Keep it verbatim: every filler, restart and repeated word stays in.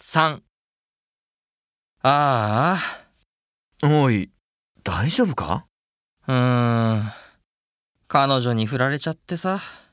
さん。ああ。おい、大丈夫か？ あ、うーん。彼女に振られちゃってさ。